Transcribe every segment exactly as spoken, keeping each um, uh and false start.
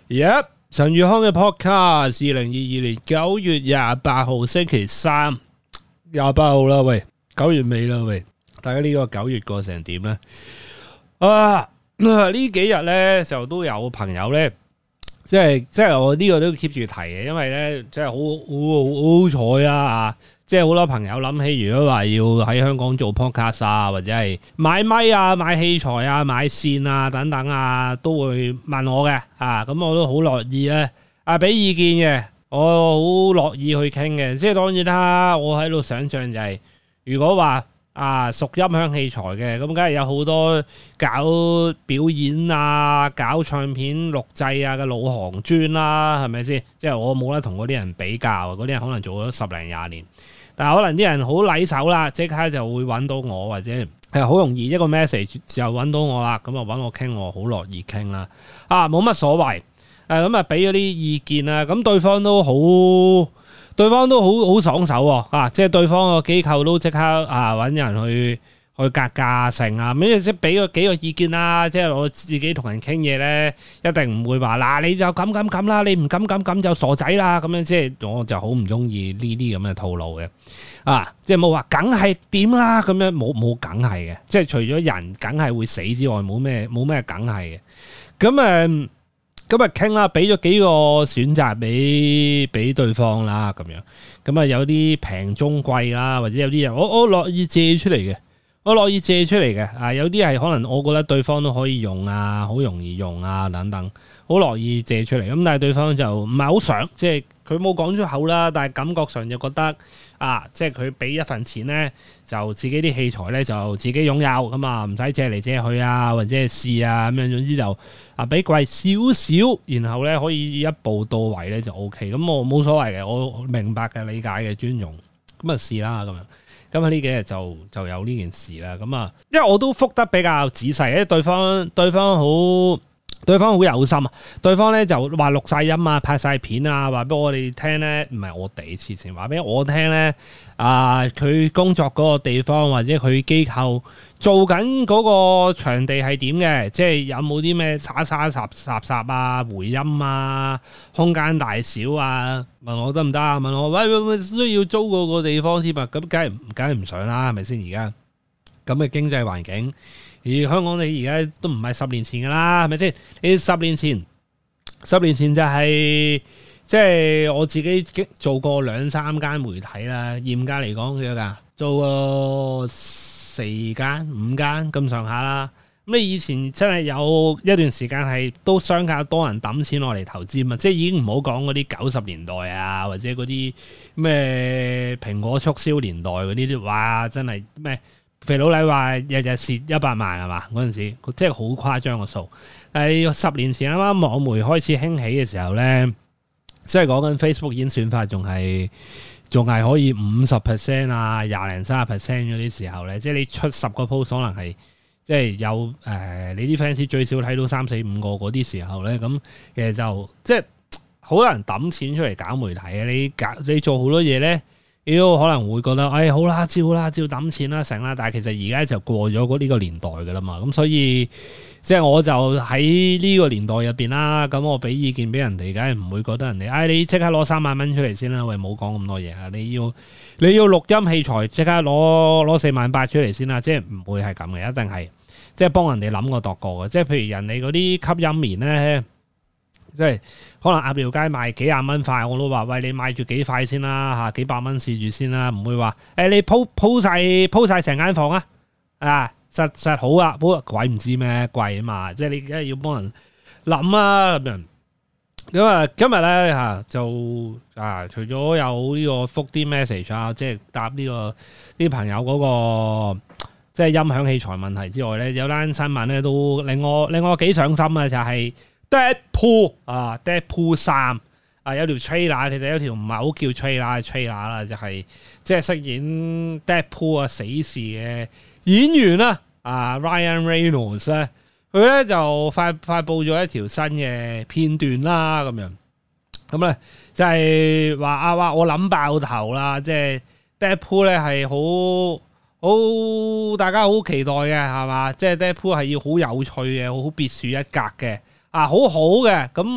Yep， 陳宇康嘅 podcast， 二零二二年九月廿八號星期三，廿八號啦，喂，九月尾啦，喂，大家呢個九月過成點咧？啊，呢幾日咧就都有朋友咧，即係即係我呢個都 keep 住提嘅，因為咧即係好好好彩啊！即係好多朋友諗起，如果話要喺香港做 podcast 啊，或者係買咪啊、買器材啊、買線啊等等啊，都會問我嘅啊。咁我都好樂意咧啊，俾意見嘅，我好樂意去傾嘅。即係當然啦，我喺度想象就係、是，如果話啊屬音響器材嘅，咁梗係有好多搞表演啊、搞唱片錄製啊嘅老行專啦，係咪先？即係我冇得同嗰啲人比較，嗰啲人可能做咗十零廿年。但係可能啲人好禮手啦，即刻就會揾到我，或者係好容易一個 message 就揾到我啦，咁就揾我傾，我好樂意傾啦。啊，冇乜所謂，誒咁啊俾咗啲意見啦，咁對方都好，對方都好好爽手喎，啊，即係對方個機構都即刻啊揾人去去格價成啊，咁即係俾個幾個意見啦。即係我自己同人傾嘢咧，一定唔會話嗱你就咁咁咁啦，你唔敢咁咁就傻仔啦咁樣。即係我就好唔中意呢啲咁嘅套路嘅啊！即係冇話梗係點啦咁樣，冇冇梗係嘅。即係除咗人梗係會死之外，冇咩冇咩梗係嘅。咁誒咁啊傾啦，俾咗幾個選擇俾俾對方啦咁樣。咁啊有啲平中貴啦，或者有啲人我我樂意借出嚟嘅。我樂意借出嚟嘅，啊有啲係可能我覺得對方都可以用啊，好容易用啊等等，好樂意借出嚟。咁但係對方就唔係好想，即係佢冇講出口啦，但係感覺上就覺得啊，即係佢俾一份錢咧，就自己啲器材咧就自己擁有，咁啊唔使借嚟借去啊，或者係試啊咁樣，總之就啊俾貴少少，然後咧可以一步到位咧就 O K。咁我冇所謂嘅，我明白嘅、理解嘅、尊重，咁啊試啦咁樣。咁啊呢幾日就就有呢件事啦，咁啊，因為我都覆得比較仔細，因為對方對方好對方好有心啊，對方咧就話錄晒音啊、拍晒片啊，話俾我哋聽咧，唔係我哋黐線，話俾我聽咧，啊佢工作嗰個地方或者佢機構做緊嗰個場地係點嘅，即係有冇啲咩沙沙雜雜雜啊、回音啊、空間大小啊，問我得唔得啊？問我喂喂喂，需要租嗰個地方添啊？咁梗係梗係唔想啦，係咪先？而家咁嘅經濟環境。而香港你而家都唔係十年前噶啦，係咪先？你十年前，十年前就係即係我自己做過兩三間媒體啦，嚴格嚟講幾多㗎？做過四間、五間咁上下啦。咁你以前真係有一段時間係都相較多人抌錢落嚟投資嘛，即係已經唔好講嗰啲九十年代啊，或者嗰啲咩蘋果促銷年代嗰啲，哇！真係咩？肥佬黎話日日蝕一百萬係嘛？嗰陣時即係好誇張個數。但係十年前啱啱網媒開始興起嘅時候咧，即係講緊 Facebook 演算法仲係仲係可以五十 percent 啊、廿零三十 percent 嗰啲時候咧，即係你出十個 post 可能係即係有誒、呃、你啲 fans 最少睇到三四五個嗰啲時候咧，咁其實就即係好多人抌錢出嚟搞媒體啊！你搞你做好多嘢咧。妖可能會覺得，哎好啦，照啦，照抌錢啦，成啦。但係其實而家就過咗嗰呢個年代噶啦嘛，咁所以即係我就喺呢個年代入邊啦。咁我俾意見俾人哋，梗係唔會覺得人哋，哎你即刻攞三萬蚊出嚟先啦。喂，冇講咁多嘢啊！你要你要錄音器材，即刻攞攞四萬八出嚟先啦。即係唔會係咁嘅，一定係即係幫人哋諗過度過嘅。即係譬如人哋嗰啲吸音棉咧。即係可能鴨寮街賣幾廿蚊塊，我都話喂，你買住幾塊先啦嚇，幾百蚊試住先啦，唔會話誒、欸、你鋪鋪曬鋪曬成間房啊啊實實好啊，不過鬼唔知咩貴啊嘛，即係你梗係要幫人諗啊咁樣。咁啊今日咧嚇就啊除咗有呢個覆啲 message 啊，即係答呢、這個啲朋友嗰、那個即係音響器材問題之外咧，有單新聞咧都令我令我幾上心啊，就係、是。Deadpool 啊 ，Deadpool 三啊，有條 trailer， 其實有條唔係好叫 trailer 係 trailer 啦，就係即係飾演 Deadpool 啊死侍嘅演員啦，啊 Ryan Reynolds 咧，佢咧就發發佈咗一條新嘅片段啦，咁樣咁咧就係話啊話我諗爆頭啦，即係 Deadpool 咧係好好大家好期待嘅係嘛，即係 Deadpool 係要好有趣嘅，好別樹一格嘅。啊，好好嘅，咁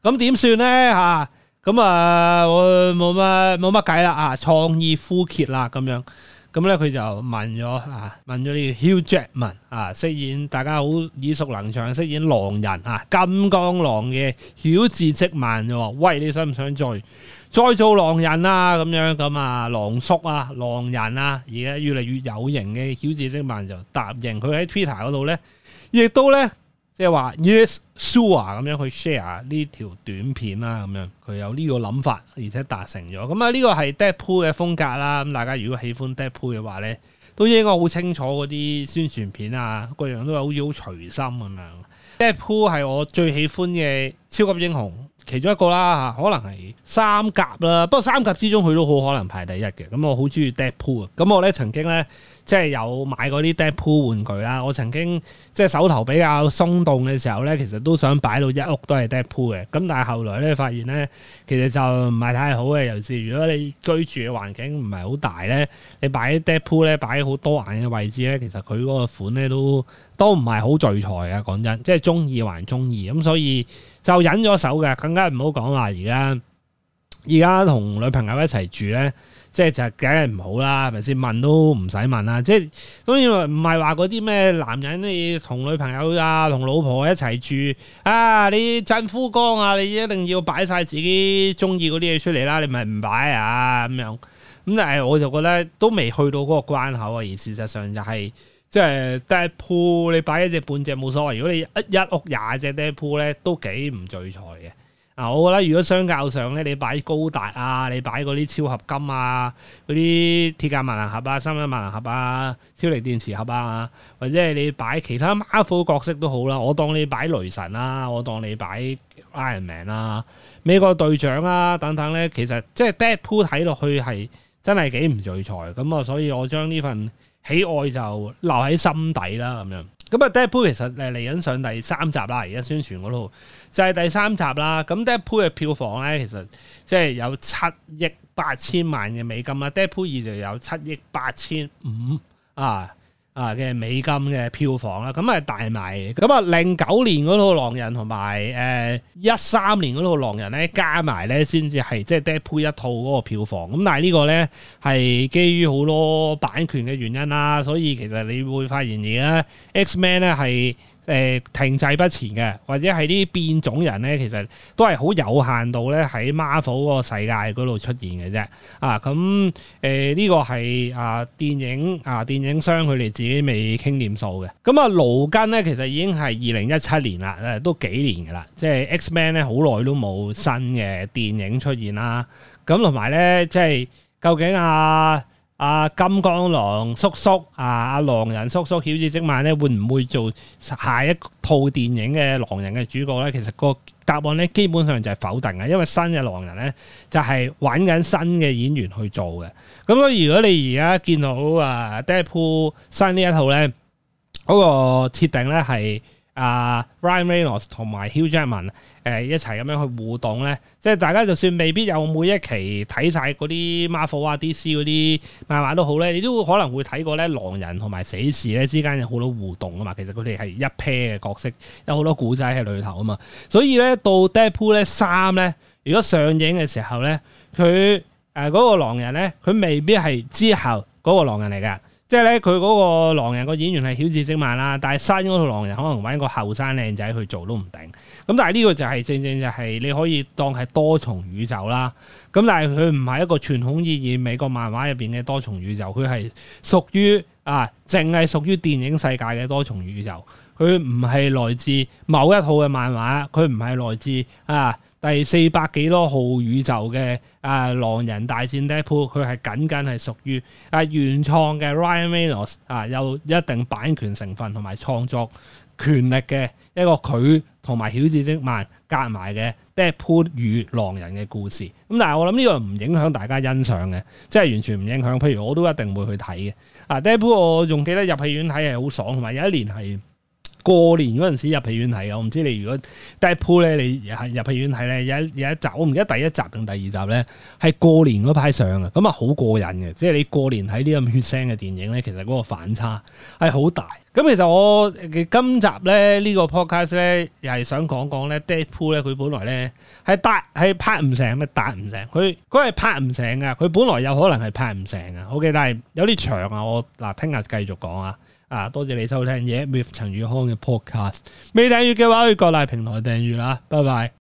咁點算咧嚇？咁啊，我冇乜冇乜計啦啊！創意枯竭啦咁樣。咁咧佢就問咗啊，問咗呢個 Hugh Jackman 啊，飾演大家好耳熟能詳，飾演狼人啊，金剛狼嘅曉治積曼就話：喂，你想唔想再再做狼人啊？咁樣咁啊，狼叔啊，狼人啊，而家越嚟越有型嘅曉治積曼就答應。佢喺 Twitter 嗰度咧，亦都咧即係話 Yes sure 咁樣去 share 呢條短片啦，咁樣佢有呢個諗法，而且達成咗。咁啊，呢個係 Deadpool 嘅風格啦。咁大家如果喜歡 Deadpool 嘅話咧，都應該好清楚嗰啲宣傳片啊，各樣都係好似好隨心咁樣。Deadpool 係我最喜歡嘅超級英雄其中一個啦，可能係三甲啦。不過三甲之中佢都好可能排第一嘅。咁我好中意 Deadpool 啊。咁我咧曾經咧即係有買過啲 Deadpool 玩具啦。我曾經即係手頭比較鬆動嘅時候咧，其實都想擺到一屋都係 Deadpool 嘅。咁但係後來咧發現咧，其實就唔係太好嘅。尤其是如果你居住嘅環境唔係好大咧，你擺 Deadpool 咧擺好多眼嘅位置咧，其實佢嗰個款咧都都唔係好聚財嘅。講真，即係中意還中意咁，所以就忍咗手嘅。更加唔好講話而家而家同女朋友一齊住咧。即係就梗係唔好啦，係咪先？問都唔使問啦。即係當然唔係話嗰啲咩男人你同女朋友啊、同老婆一齊住啊，你振夫綱啊，你一定要擺晒自己中意嗰啲嘢出嚟啦，你咪唔擺啊咁樣。咁但係我就覺得都未去到嗰個關口啊。而事實上就係、是、即係 Deadpool，你擺一隻半隻冇所謂。如果你一一屋廿隻 Deadpool 咧，都幾唔聚財嘅。啊，我覺得如果相較上咧，你擺高達啊，你擺嗰啲超合金啊，嗰啲鐵甲萬能俠啊、三一萬能俠啊、超力電磁俠啊，或者係你擺其他 Marvel 角色都好啦，我當你擺雷神啦，我當你擺 Iron Man 啦、美國隊長啊等等咧，其實即係 Deadpool 睇落去係真係幾唔聚財咁啊，所以我將呢份喜愛就留喺心底啦，咁樣。咁啊 Deadpool 其實誒嚟緊上第三集啦，而家宣傳嗰度就係第三集啦。咁 Deadpool 嘅票房咧，其實即係有七億八千萬嘅美金啦。Deadpool 二就有七億八千五啊啊嘅美金嘅票房啦。咁係大賣嘅。咁啊零九年嗰套狼人同埋誒一三年嗰套狼人咧加埋咧先至係即係 Deadpool 一套嗰個票房。咁但係呢個咧係基於好多版權嘅原因啦，所以其實你會發現而家 X-Men 咧係誒停滯不前嘅，或者係啲變種人咧，其實都係好有限度咧喺 Marvel 嗰個世界嗰度出現嘅啫。啊，咁誒呢個係啊電影啊電影商佢哋自己未傾掂數嘅。咁啊勞根咧其實已經係二零一七年啦，誒都幾年㗎啦。即係 X-Men 咧好耐都冇新嘅電影出現啦。咁同埋咧即係究竟啊？啊金剛狼叔叔啊，阿狼人叔叔曉治積曼咧，會唔會做下一套電影嘅狼人嘅主角咧？其實個答案咧基本上就係否定嘅，因為新嘅狼人咧就係揾緊新嘅演員去做嘅。咁所以如果你而家見到啊 Deadpool 新呢一套咧，嗰、那個設定咧係啊 Ryan Reynolds 同埋 Hugh Jackman 誒一齊咁樣去互動咧，即係大家就算未必有每一期睇晒嗰啲 Marvel 啊 D C 嗰啲漫畫都好咧，你都可能會睇過咧狼人同埋死侍咧之間有好多互動啊嘛。其實佢哋係一 pair 嘅角色，有好多古仔喺裏頭啊嘛。所以咧到 Deadpool 咧三咧，如果上映嘅時候咧，佢誒嗰個狼人咧，佢未必係之後嗰個狼人嚟嘅。即係咧，佢嗰個狼人個演員係曉治積曼啦，但係新嗰套狼人可能揾個後生靚仔去做都唔定。咁但係呢個就係、是、正正就係你可以當係多重宇宙啦。咁但係佢唔係一個傳統意義美國漫畫入邊嘅多重宇宙，佢係屬於啊，淨係屬於電影世界嘅多重宇宙。佢唔係來自某一套嘅漫畫，佢唔係來自啊第四百幾多號宇宙嘅啊狼人大戰 Deadpool， 佢係僅僅係屬於啊原創嘅 Ryan Reynolds 啊有一定版權成分同埋創作權力嘅一個佢同埋曉治積曼夾埋嘅 Deadpool 與狼人嘅故事。咁但係我諗呢個唔影響大家欣賞嘅，即係完全唔影響。譬如我都一定會去睇嘅。啊 Deadpool 我仲記得入戲院睇係好爽，同埋有一年係過年嗰陣時入戲院睇嘅，我唔知你如果 Deadpool 咧，你入戲院睇咧，有一有一集，我唔記得第一集定第二集咧，係過年嗰排上嘅，咁啊好過癮嘅，即係你過年睇啲咁血腥嘅電影咧，其實嗰個反差係好大。咁其實我嘅今集咧呢、這個 podcast 咧，又係想講講咧 Deadpool 咧，佢本來咧係達係拍唔成咩，達唔成，佢佢係拍唔成噶，佢本來有可能係拍唔成噶。OK，但係有啲長啊，我嗱聽日繼續講啊。啊，多謝你收聽嘢 with 陳宇康嘅 podcast。未訂閱嘅話，去各大平台訂閱啦。拜拜。